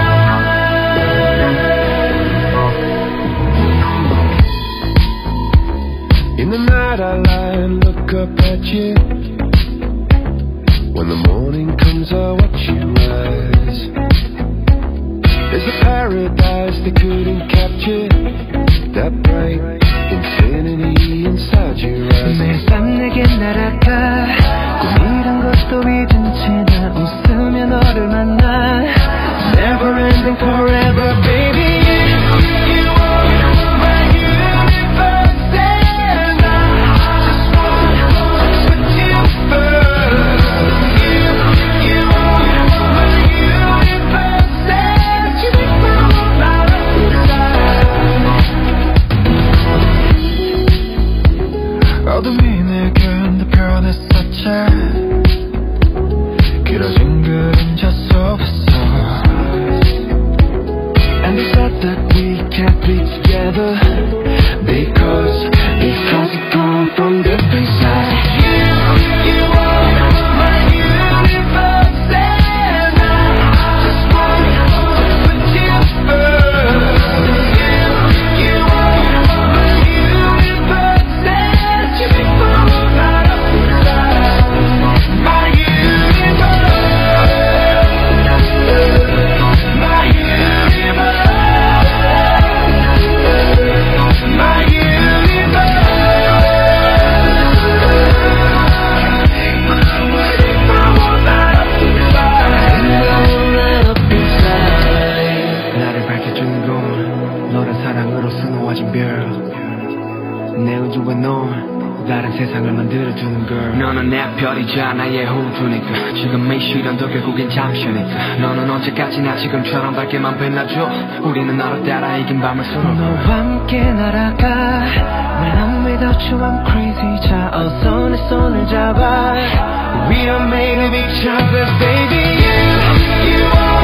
in the night I lie and look up at you. When the morning comes I watch you rise. There's a paradise they couldn't capture. That bright infinity inside your eyes. 매일 밤 내게 날아가 꿈이란 것도 잊은 채 나 웃으며 너를 만나. Never ending forever baby. You are my universe and I just want to put you first. You are my universe and you make my whole life inside. 어둠이 내 견뎌 변했었지. 길어진 그림자 속에서 And they said that we can't be together Because we've gone from the inside. You are my universe and I just want to put you first. You are my universe and you make my whole life inside. My universe, my universe, my universe. My whole life inside. 나를 밝혀주는 건 너란 사랑으로 수놓아진 별 내 우주와 넌 다른 세상을 만들어주는 걸 너는 내 별이자 나의 호두니까 지금 이 시련도 결국엔 잠시니까 너는 언제까지나 지금처럼 밝게만 빛나줘 우리는 너를 따라 이긴 밤을 서로 너와 함께 날아가 When I'm without you I'm crazy 자 어서 내 손을 잡아 We are made of each other baby. You are